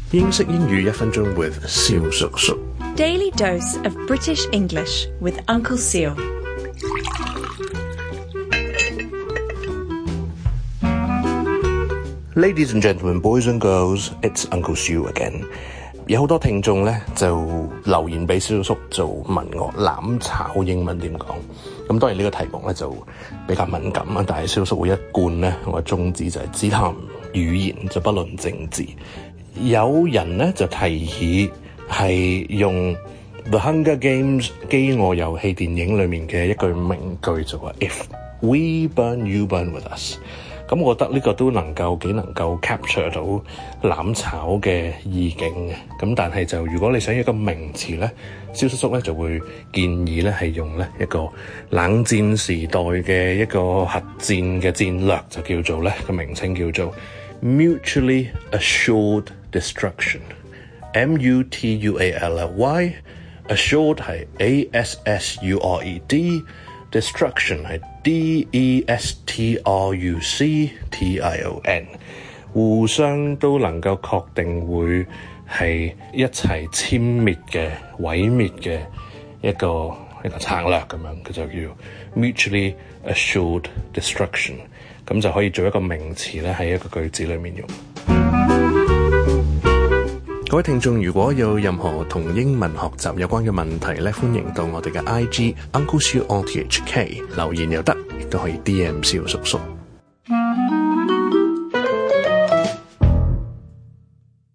英式英語1分鐘 with 蕭叔叔。 Daily dose of British English with Uncle Seal. Ladies and gentlemen, boys and girls, it's Uncle Seal again. 有好多聽眾咧就留言俾蕭叔叔，就問我攬炒英文點講。咁當然呢個題目咧就比較敏感啊，但係蕭叔會一貫咧我嘅宗旨就係只談語言就不論政治。有人咧就提議係用 The Hunger Games 飢餓遊戲電影裏面嘅一句名句就話 If we burn, you burn with us。咁我覺得呢個都幾能夠 capture 到攬炒嘅意境嘅。咁但係就如果你想要一個名詞咧，蕭叔叔咧就會建議咧係用咧一個冷戰時代嘅一個核戰嘅戰略，就叫做咧個名稱叫做 Mutually Assured Destruction。 M-U-T-U-A-L-L-Y Assured 係 A-S-S-U-R-E-D， Destruction 係 D-E-S-T-R-U-C-T-I-O-N， 互相都能夠確定會係一齊殲滅嘅、毀滅嘅一個策略咁樣，佢就叫 Mutually Assured Destruction， 咁就可以做一個名詞咧喺一個句子裏面用。各位聽眾，如果有任何同英文學習有關嘅問題咧，歡迎到我哋嘅 IG Uncle Seal on THK 留言又得，亦都可以 DM 蕭叔叔。